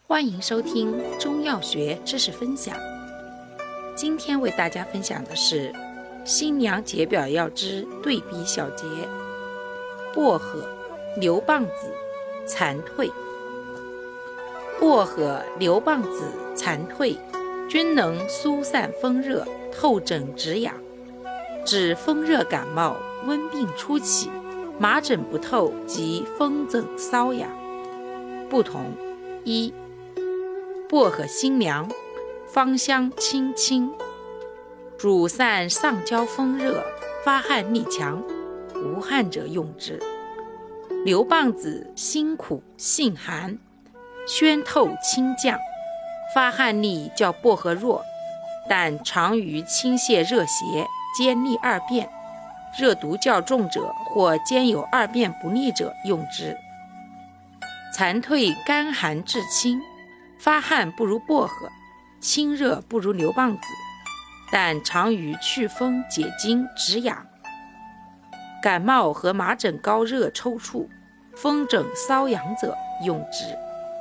欢迎收听中药学知识分享。今天为大家分享的是新娘解表药之对比小节：薄荷、牛蒡子、蝉蜕。薄荷、牛蒡子、蝉蜕均能疏散风热、透疹止痒，治风热感冒、温病初起、麻疹不透及风疹瘙痒。不同：一、薄荷辛凉，芳香清清，主散上焦风热，发汗力强，无汗者用之。牛蒡子辛苦性寒，宣透清降，发汗力较薄荷弱，但常于清泻热邪、兼利二便，热毒较重者或兼有二便不利者用之。蝉蜕干寒治清，发汗不如薄荷，清热不如牛蒡子，但常于祛风解痉止痒。感冒和麻疹高热抽搐、风疹瘙痒者用之。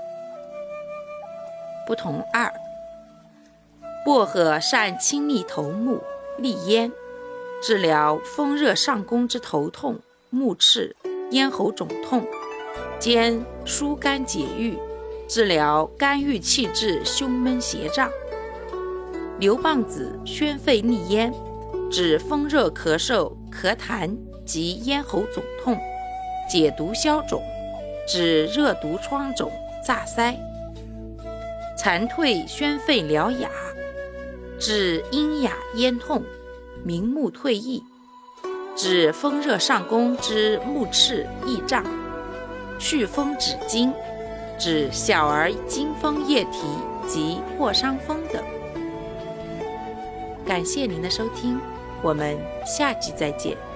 不同二：薄荷善清利头目、利咽，治疗风热上攻之头痛、目赤、咽喉肿痛，兼疏肝解郁，治疗肝郁气滞、胸闷胁胀。牛蒡子宣肺利咽，治风热咳嗽、咳痰及咽喉肿痛，解毒消肿，治热毒疮肿、炸腮。蝉蜕宣肺疗哑，治阴哑咽痛、明目退翳，治风热上攻之目赤翳胀，祛风止痉，治小儿惊风液啼及破伤风等。感谢您的收听，我们下集再见。